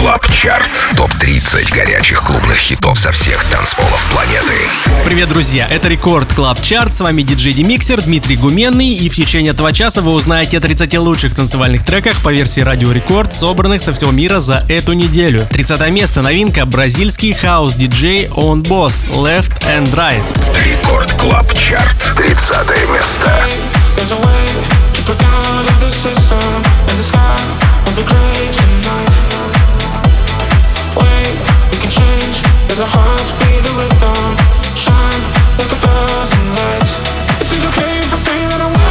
Клаб Чарт. Топ-30 горячих клубных хитов со всех танцполов планеты. Привет, друзья! Это Рекорд Клаб Чарт. С вами диджей Демиксер Дмитрий Гуменный. И в течение этого часа вы узнаете о 30 лучших танцевальных треках по версии Радио Рекорд, собранных со всего мира за эту неделю. 30 место. Новинка. Бразильский хаус-диджей On Boss. Left and Right. Рекорд Клаб Чарт. 30 место. Let our hearts be the rhythm, shine like a thousand lights. Is it okay if I say that I want?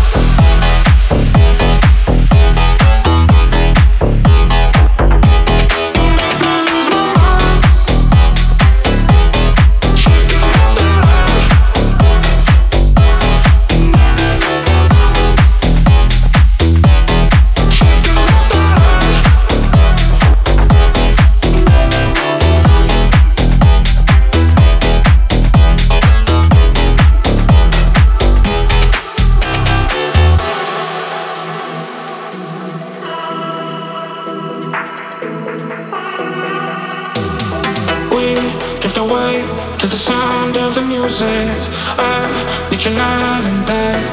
I need you night and day.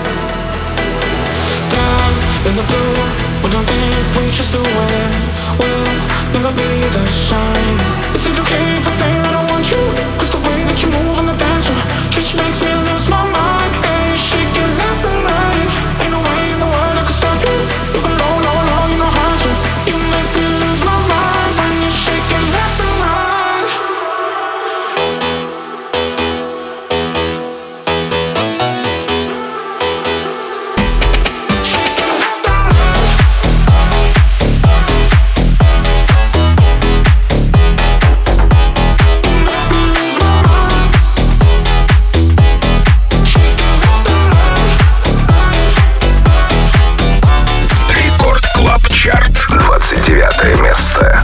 Dive in the blue. We don't think we just do it. We'll never be the same. Is it okay if I say that I want you? Cause the way that you move on the dance floor just makes me lose my mind. Hey, shake it left and right. Ain't no way in the world I can stop you. You go low, low, low, you know how to. You make me lose my mind when you shake it left and right. Место.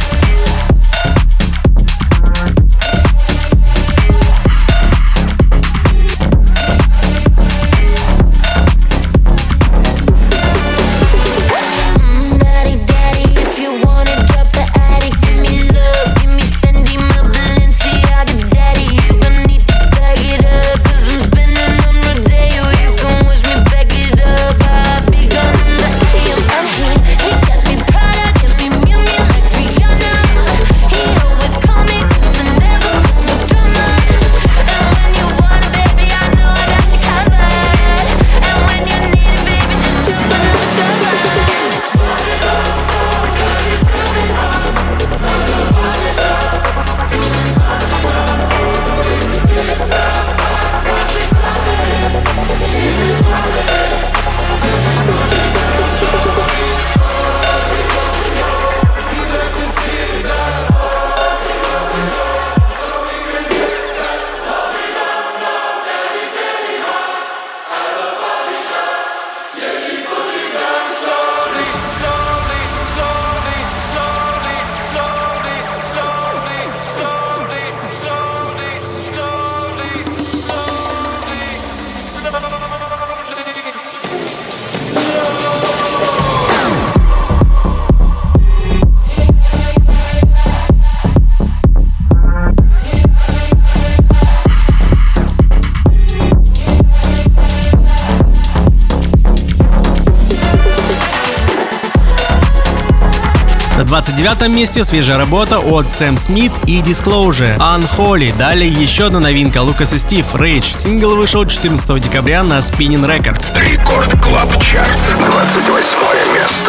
На 29-м месте свежая работа от Сэм Смит и Disclosure Unholy. Далее еще одна новинка Лукас и Стив Rage. Сингл вышел 14 декабря на Spinning Records. Рекорд Клаб Чарт. 28 место.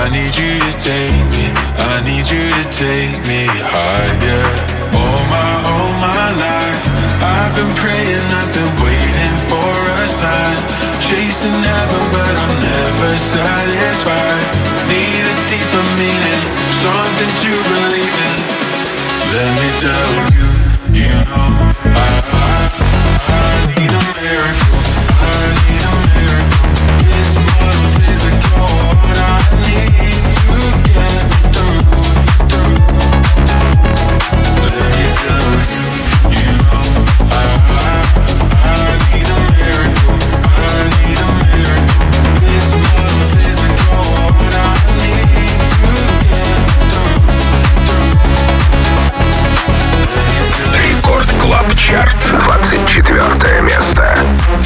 I need you to take me, I need you to take me higher. All my life, I've been praying, I've been waiting for a sign. Chasing heaven, but I'm never satisfied. Need a deeper meaning, something to believe in. Let me tell you, you know I need a miracle, I need a miracle. It's more physical, what I need to get through. Let me tell you, you know I need a miracle, I need a miracle. It's more physical, what I need to get through. Рекорд Клаб Чарт, 24 место.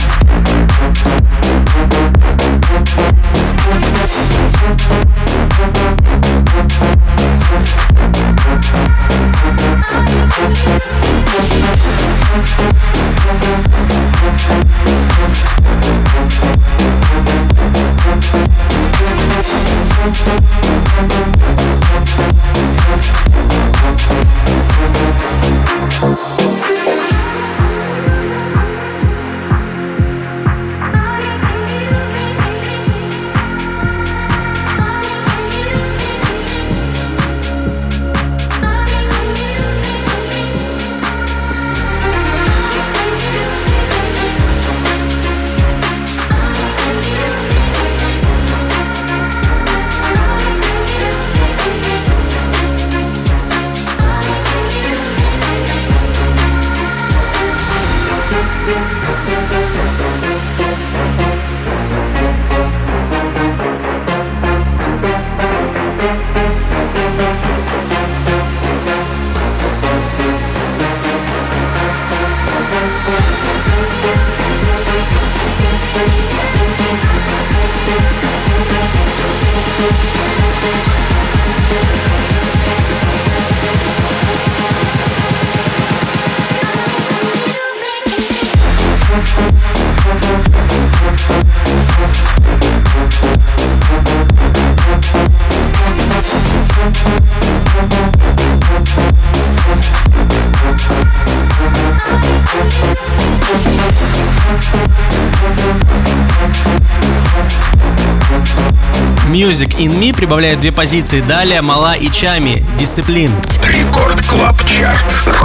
Music in Me прибавляет 2 позиции. Далее Мала и Чами, Дисциплин. Рекорд Клаб Чарт,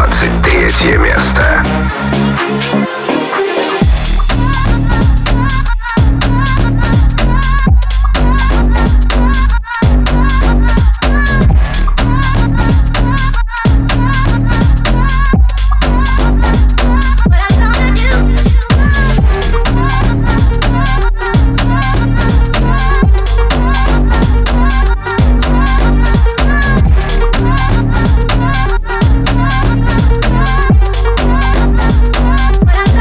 23 место. What I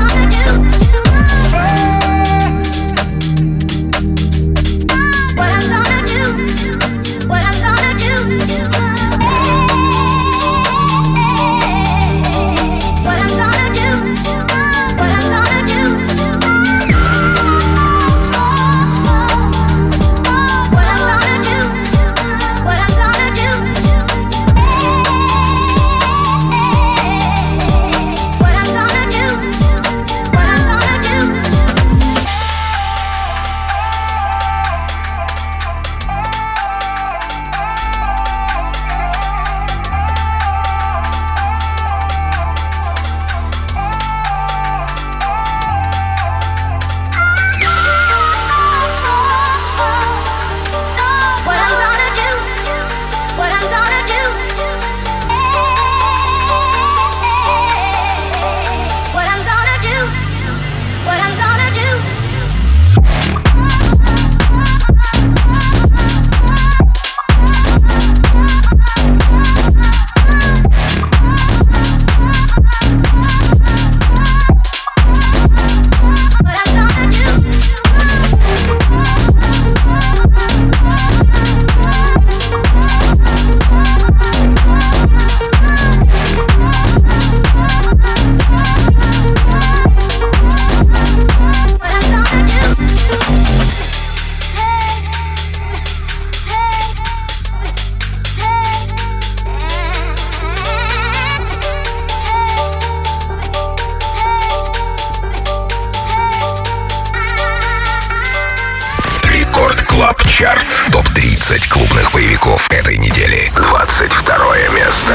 Топ-30 клубных боевиков этой недели. 22 место.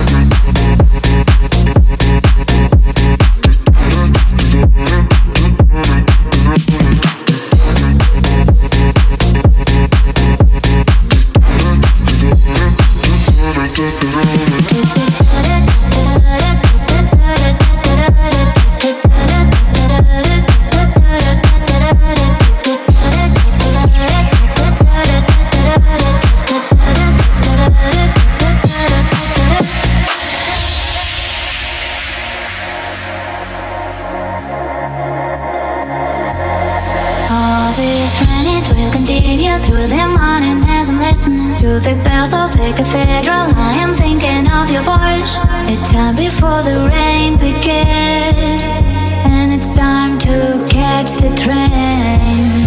Through the morning as I'm listening to the bells of the cathedral, I am thinking of your voice. It's time before the rain begins, and it's time to catch the train.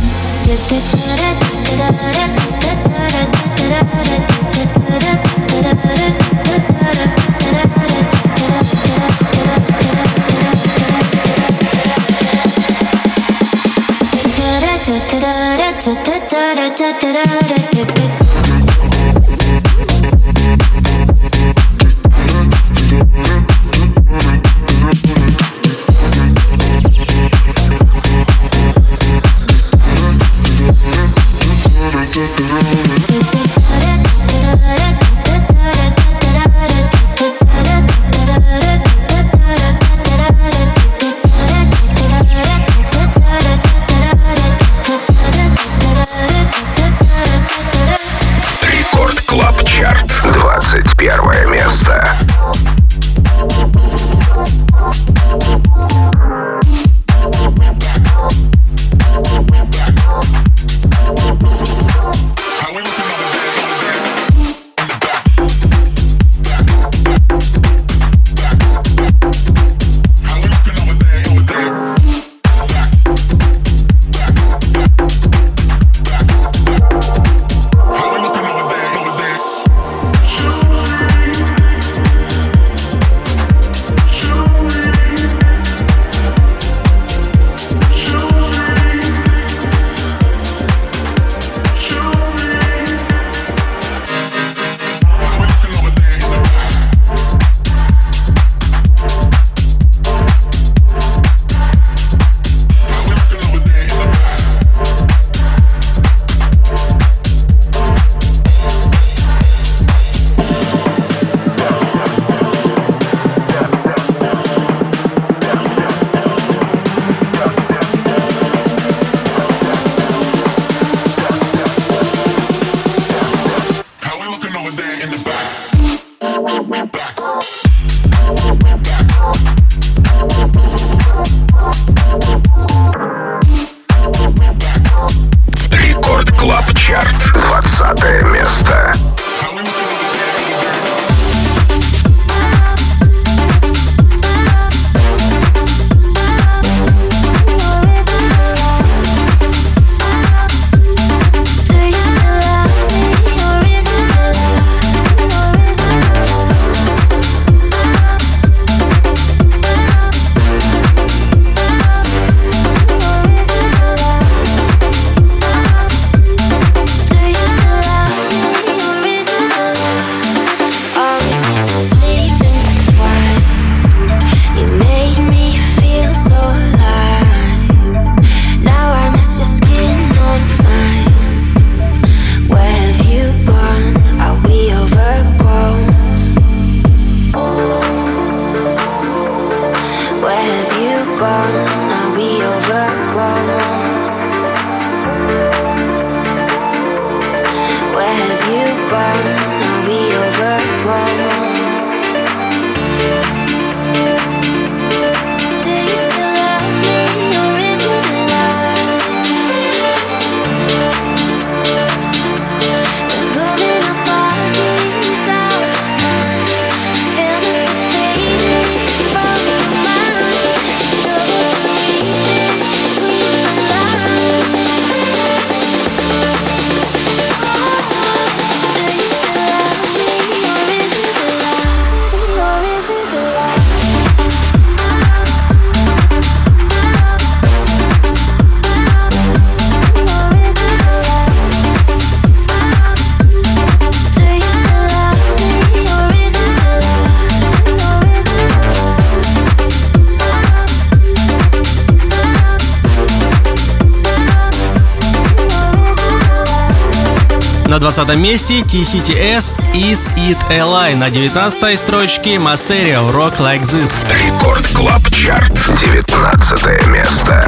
На 20 месте TCTS Is It a Lie. На 19 строчке Мастерио Rock Like This. Рекорд Клаб Чарт, 19 место.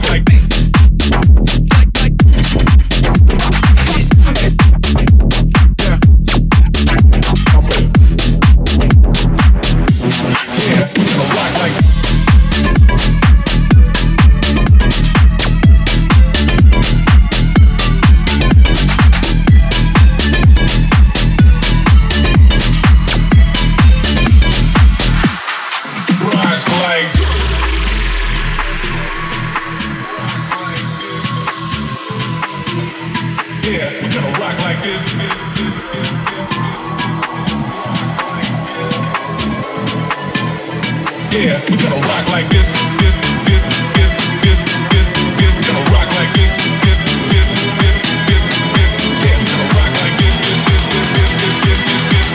Yeah, we gonna rock like this, this, this, this, this, this, this. We gonna rock like this, this, this, this, this, this. Yeah, we gonna rock like this, this, this, this, this, this, this, this,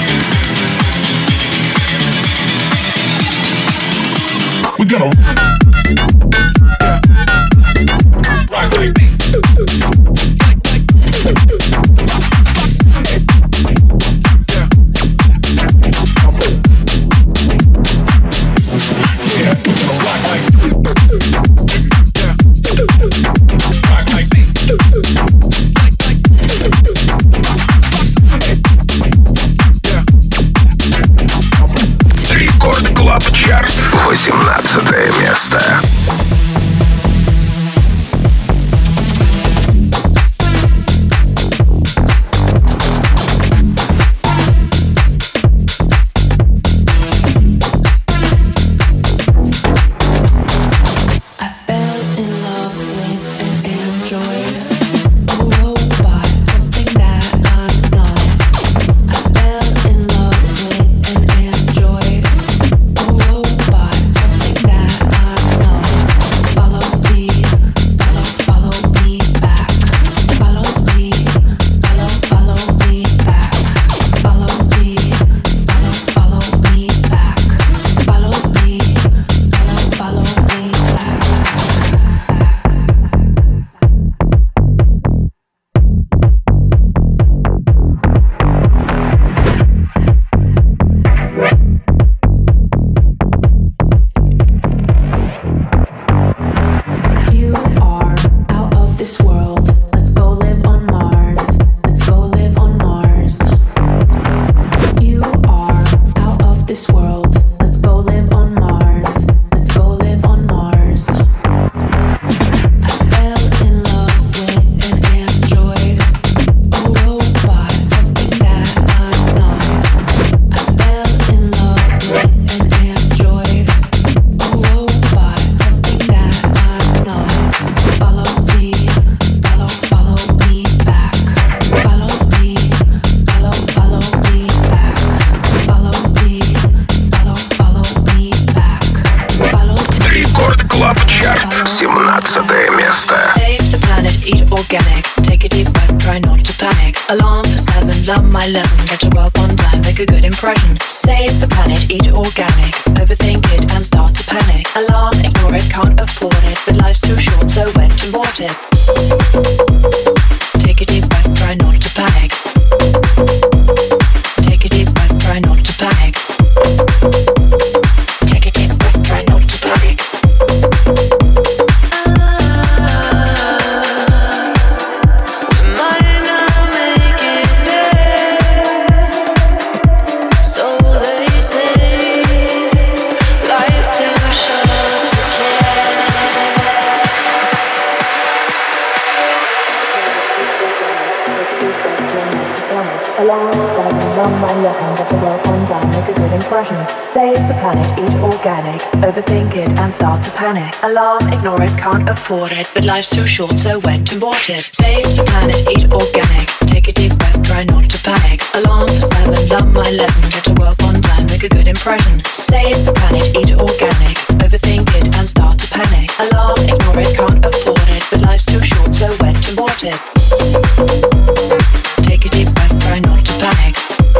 this, this, this. We gonna rock like this. Рекорд Клаб Чарт, 18 место. Learn my lesson, get to work on time, make a good impression. Save the planet, eat organic. Overthink it and start to panic. Alarm, ignore it, can't afford it. But life's too short, so when to abort it. Take a deep breath, try not to panic. Take a deep breath, try not to panic. Take a deep breath, try not to panic. Learn my lesson, get to work on time, make a good impression. Save the planet, eat organic. Overthink it and start to panic. Alarm, ignore it, can't afford it. But life's too short, so when to abort it. Save the planet, eat organic. Take a deep breath, try not to panic. Alarm for 7, learn my lesson, get to work on time, make a good impression. Save the planet, eat organic. Overthink it and start to panic. Alarm, ignore it, can't afford it. But life's too short, so when to abort it. Take a deep breath, try not to panic.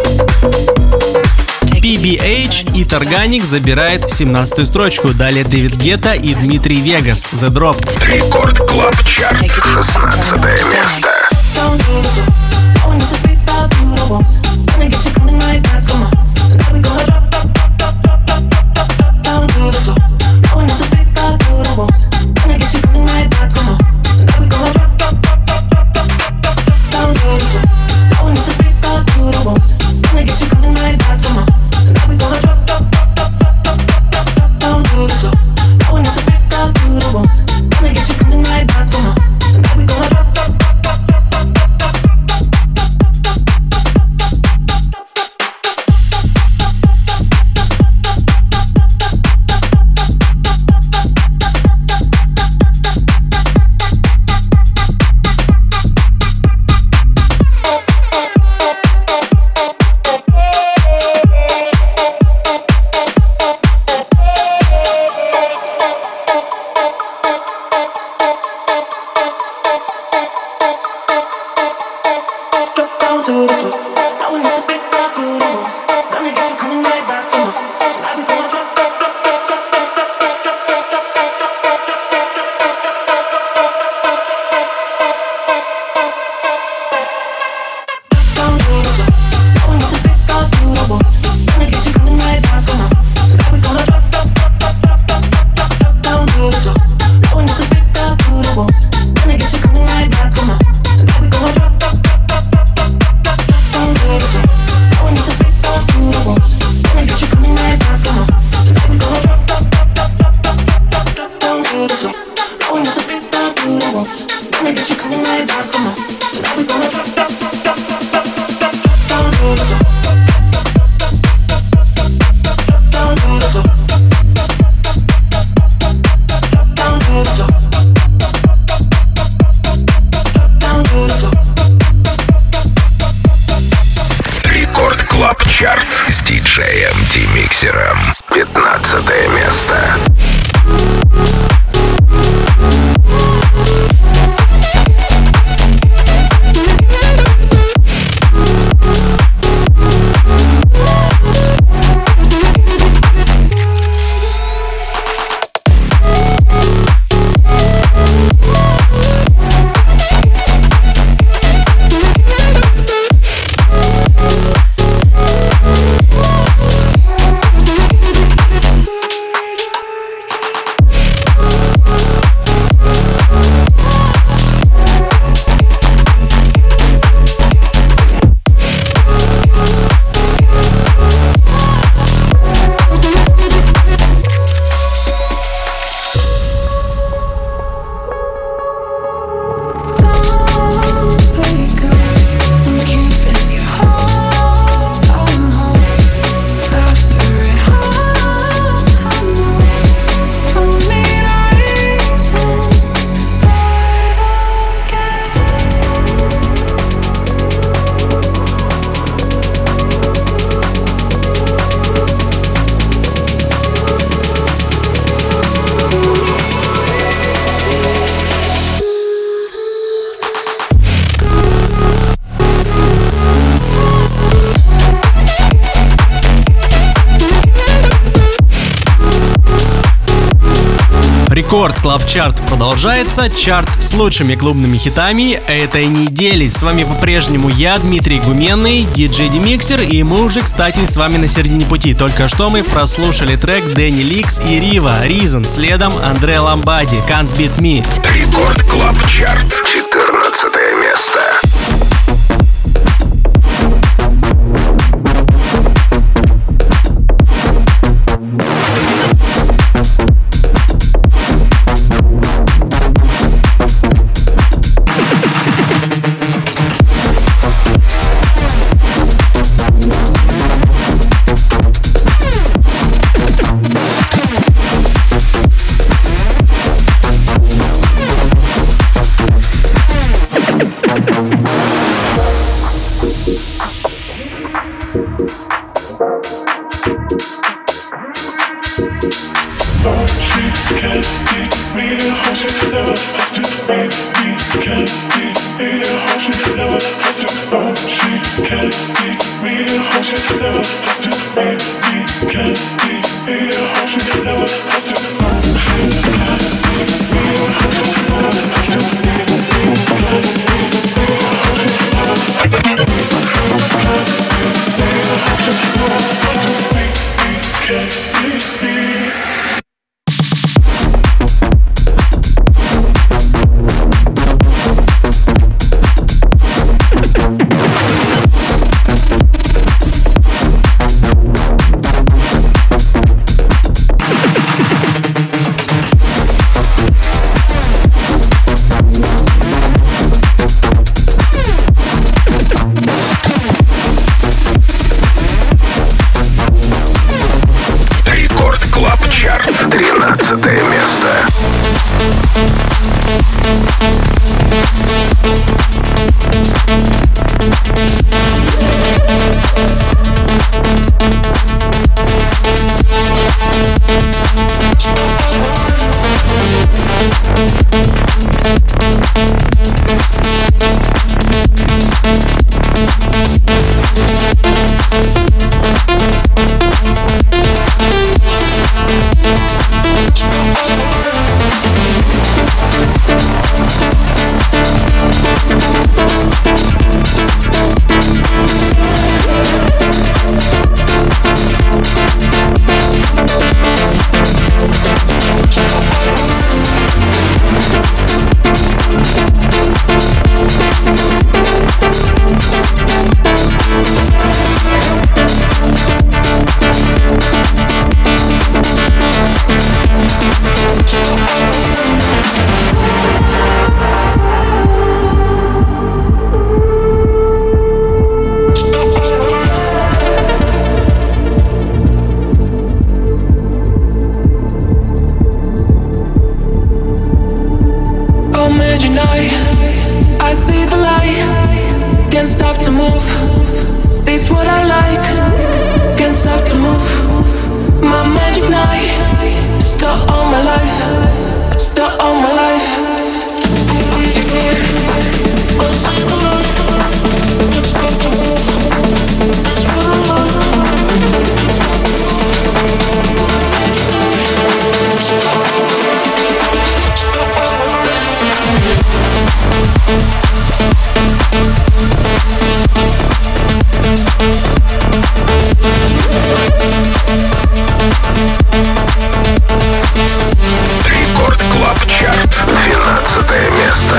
PBH и Targanic забирает 17-ю строчку. Далее Дэвид Гетта и Дмитрий Вегас. The Drop. Рекорд Клаб Чарт, 16 место. down to the floor. Now we need to speak up to the walls. Gonna get you coming right back for more. Tonight we gonna drop. Чарт с диджеем D-Mixer. 15 место. Рекорд Клаб Чарт продолжается. Чарт с лучшими клубными хитами этой недели. С вами по-прежнему я, Дмитрий Гуменный, диджей D-Mixer, и мы уже, кстати, с вами на середине пути. Только что мы прослушали трек Дэнни Ликс и Рива Reason, следом Андре Ламбади Can't Beat Me. Рекорд Клаб Чарт, 14 место. move. It's what I like. Can't stop to move. My magic night. Start all my life. Start all my life. I see the light. Can't stop to move. It's what I like. Can't stop to move. Magic night. Start all my life. Start all my life. Рекорд Клаб Чарт, 12 место.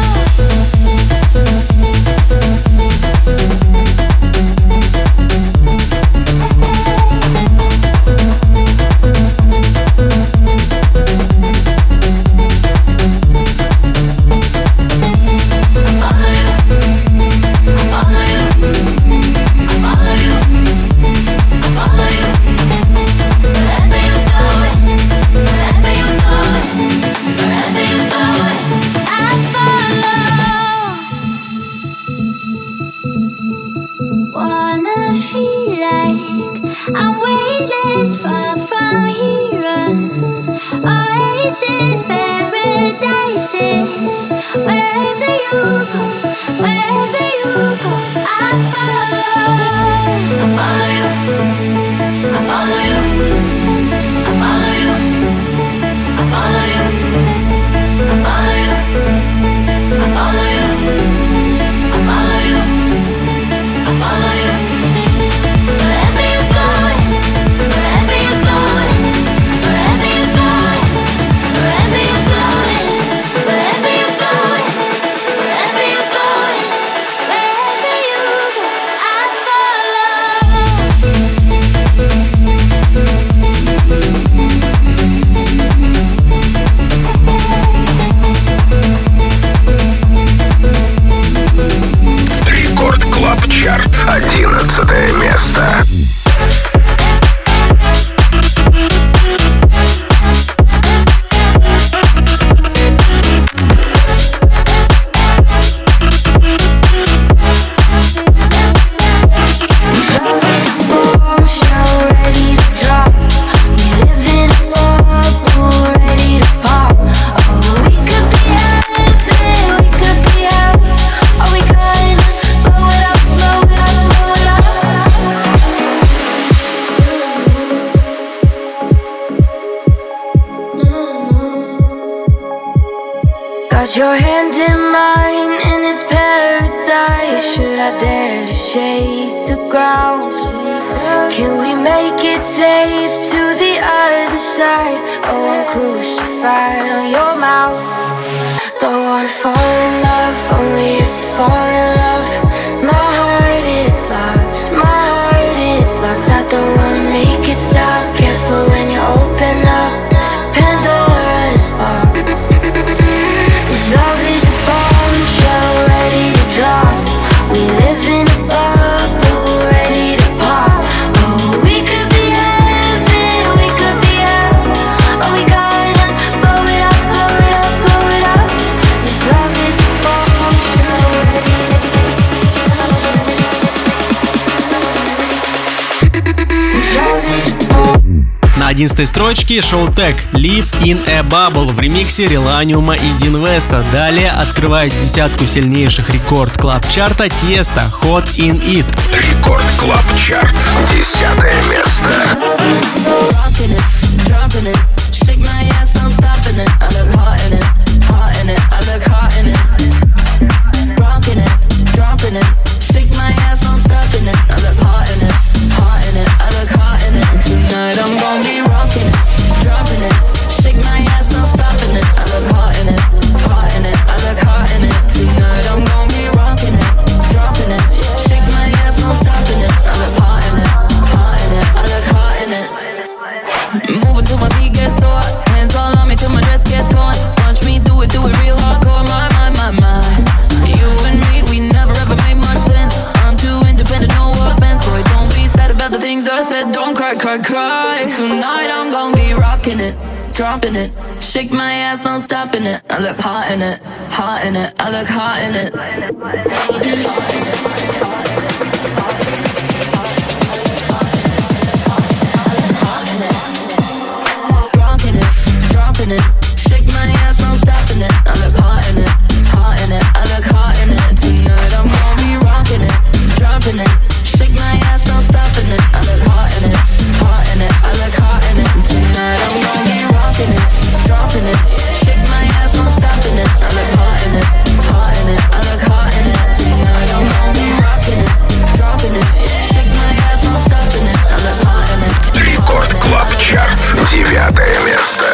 Got your hand in mine and it's paradise. Should I dare to shake the ground? Can we make it safe to the other side? Oh, I'm crucified on your mouth. Don't wanna fall in love, only if you fall in love. My heart is locked, my heart is locked. I don't wanna make it stop. Careful when you open up Pandora's box. Love is a bombshell ready to drop. We live in a bubble ready to pop. Oh, we could be heaven, we could be hell. Oh, we gotta blow it up, blow it up, blow it up. This love is a bombshell ready to This love is a bombshell. На 11 строчке Showtek Live in a Bubble в ремиксе Реланиума и Динвеста. Далее открывает десятку сильнейших рекорд клаб чарта Тиеста Hot in It. Рекорд Клаб Чарт, 10 место. Tonight I'm gonna be rocking it, dropping it. Shake my ass, I'm stopping it. I look hot in it, hot in it. I look hot in it. Tonight I'm gonna be rocking it, dropping it. Shake my ass, I'm stopping it. I look hot in it, hot in it. I look hot in it. Moving till my feet get sore. Hands all on me till my dress gets torn. Watch me do it real hardcore. My. You and me, we never ever made much sense. I'm too independent, no offense. Boy, don't be sad about the things I said. Don't cry. Tonight I'm gonna be rocking it, dropping it. Shake my ass, no stopping it. I look hot in it, hot in it. I look hot in it. Rocking it, dropping it. Shake my ass, no stopping it. I look hot in it, hot in it. I look hot in it. Tonight I'm gonna be rocking it, dropping it. Shake my ass, no stopping it. I look hot in it, hot in it. I look hot in it. Tonight I'm gonna be rocking it, dropping it. Shake my ass, no stopping it. I look hot in it, hot in it. I look hot in it. Tonight I'm gonna be rocking it, dropping it. Shake my ass, no stopping it. I look hot in it. Рекорд Клаб Чарт. 9 место.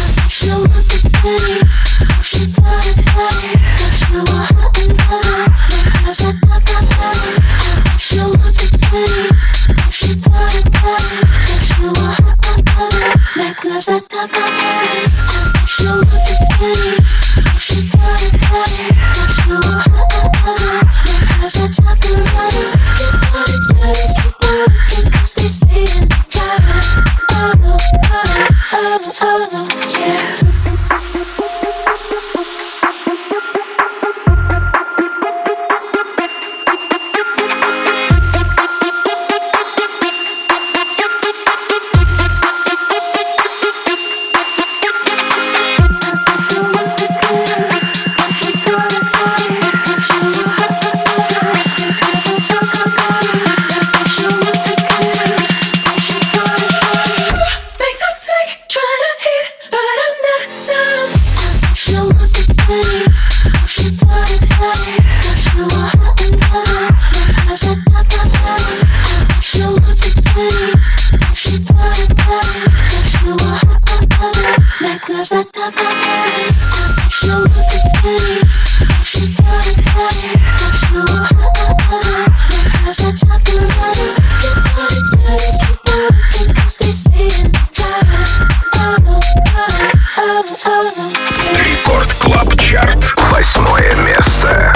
Рекорд Клаб Чарт. 8 место.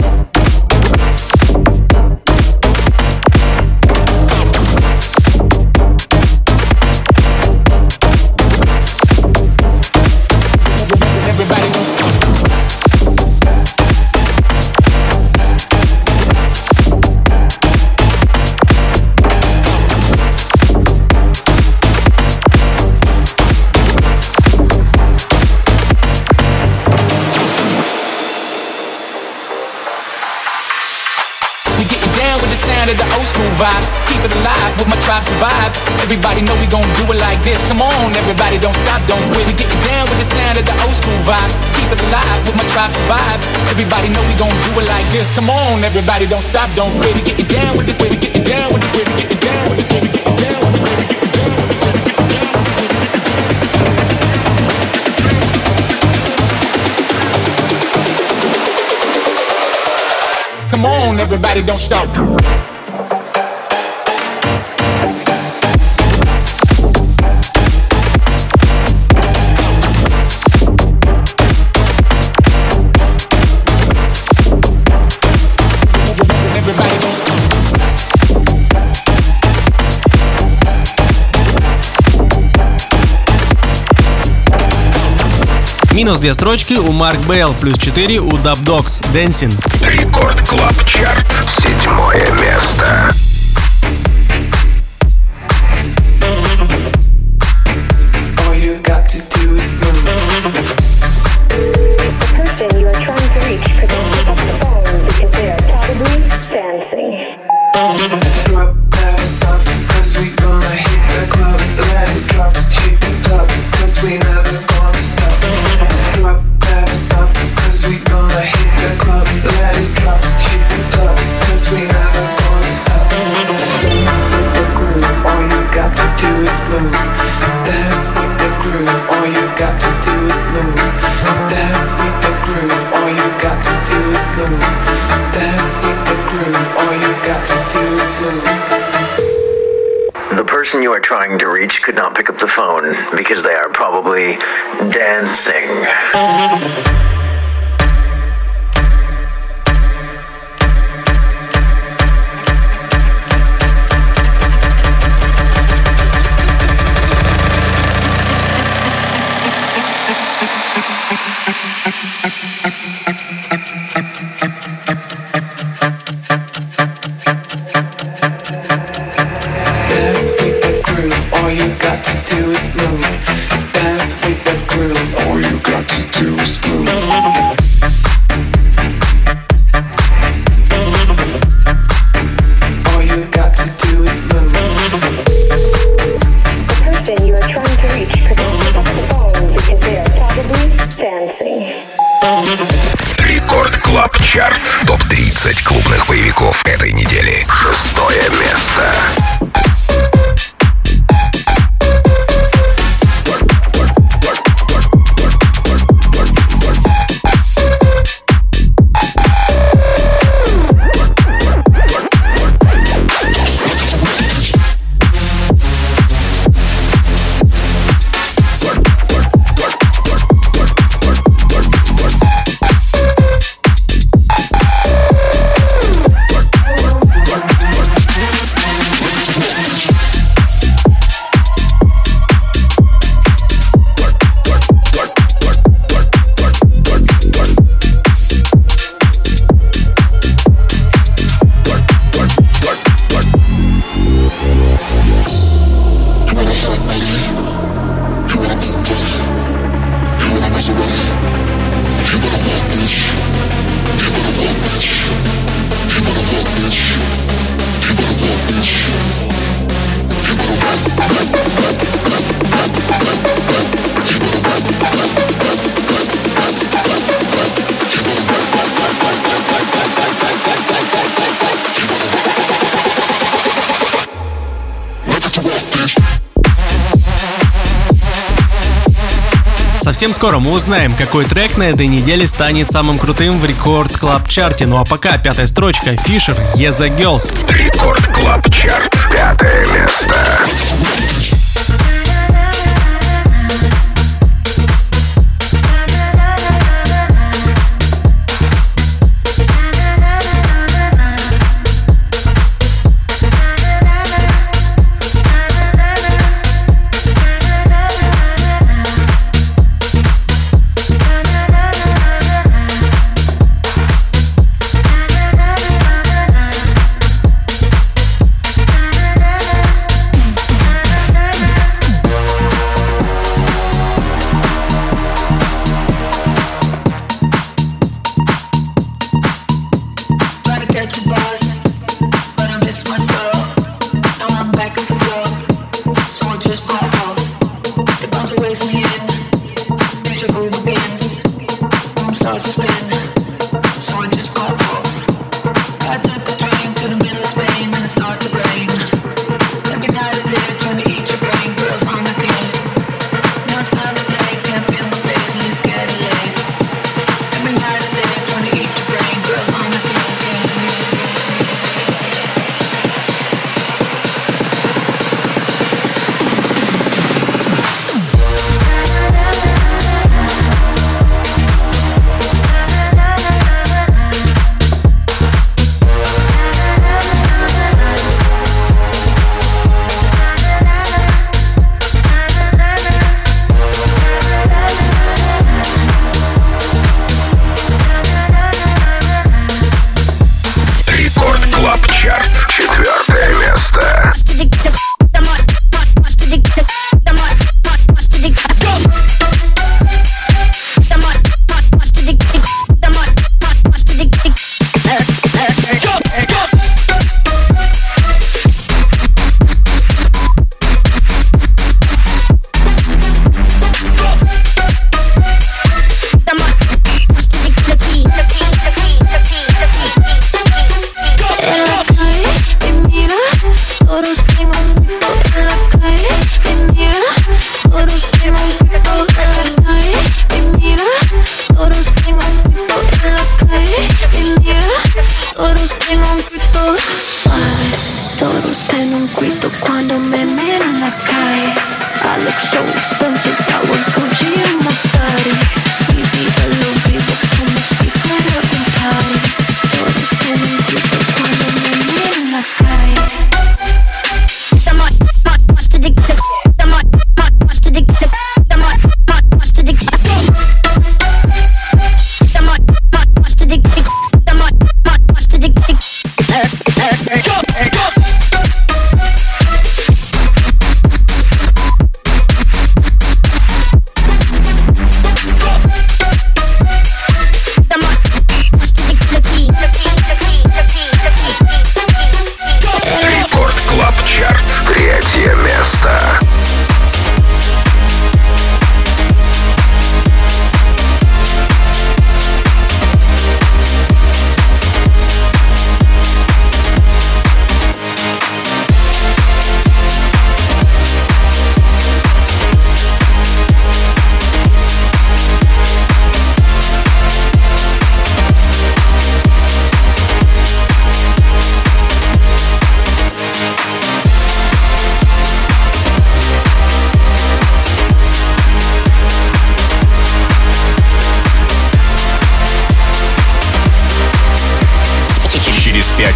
Keep it alive with my tribe survive. Everybody know we gon' do it like this. Come on, everybody don't stop, don't quit. We getting down with the sound of the old school vibe. Keep it alive with my tribe survive. Everybody know we gon' do it like this. Come on, everybody don't stop, don't quit. We getting down with this way, we getting down with this way, we getting down with this way, we getting down with this way, we getting down with this way. Come on, everybody don't stop. Минус 2 строчки у Марк Бейл, плюс 4 у Dub Dogs, Dancing. Рекорд Клаб Чарт. 7 место. The person you are trying to reach could not pick up the phone because they are probably dancing. got to do is move. Dance with that groove. All you got to do is move. All you got to do is move. The person you are trying to reach could not pick up the phone because they are probably dancing. Рекорд Клаб Чарт. Топ-30 клубных боевиков этой недели. 6-е место. Совсем скоро мы узнаем, какой трек на этой неделе станет самым крутым в Рекорд Клаб Чарте. Ну а пока 5-я строчка. Fisher, Yeah the Girls. Рекорд Клаб Чарт. 5-е место.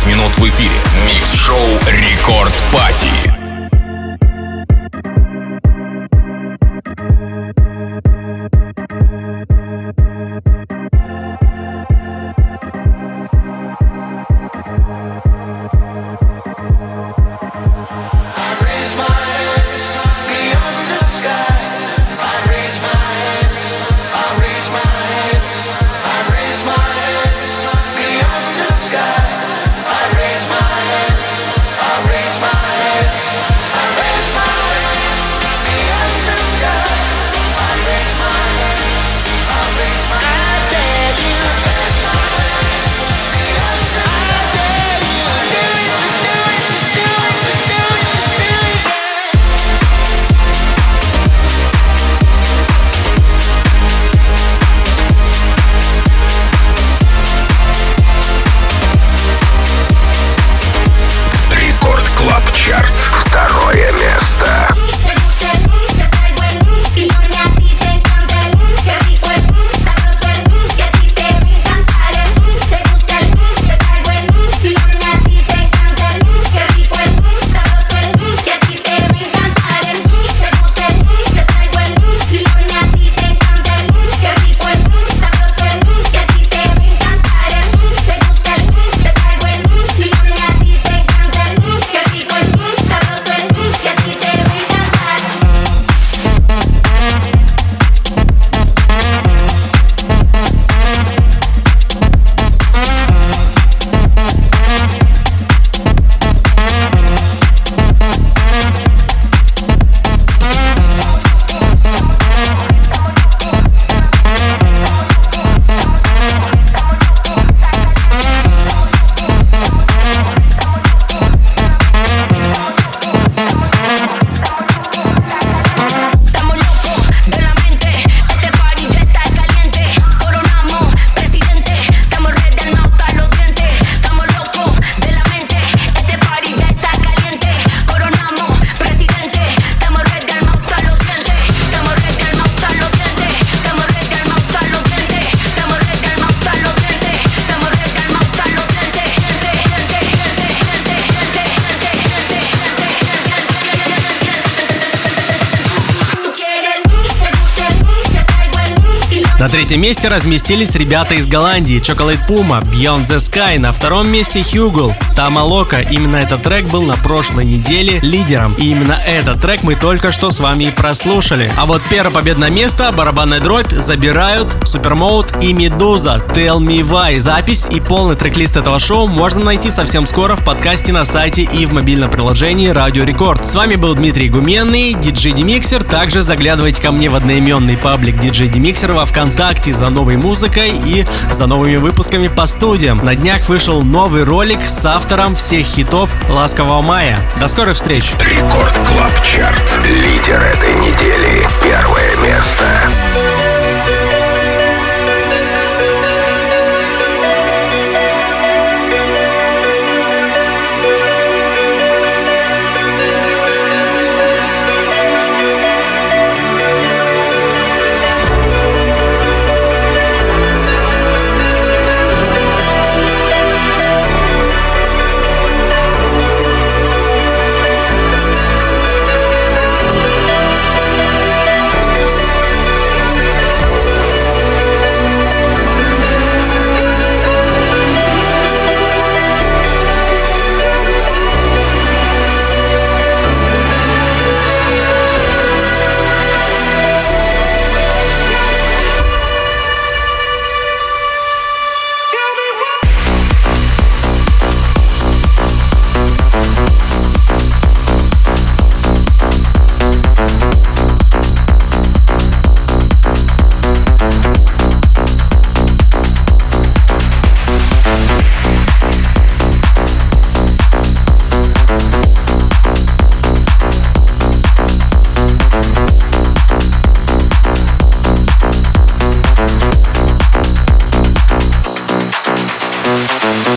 15 минут в эфире. Микс-шоу Рекорд Пати. Второе место. На третьем месте разместились ребята из Голландии Chocolate Puma, Beyond the Sky. На втором месте Hugel, Tama Loca. Именно этот трек был на прошлой неделе лидером. И именно этот трек мы только что с вами и прослушали. А вот первое победное место, барабанная дробь, забирают Supermode и Medusa, Tell Me Why. Запись и полный трек-лист этого шоу можно найти совсем скоро в подкасте на сайте и в мобильном приложении Радио Рекорд. С вами был Дмитрий Гуменный, DJ D-Mixer. Также заглядывайте ко мне в одноименный паблик DJ D-Mixer во ВКонтакте за новой музыкой и за новыми выпусками по студиям. На днях вышел новый ролик с автором всех хитов «Ласкового мая». До скорых встреч! Рекорд Клаб Чарт. Лидер этой недели. Первое место.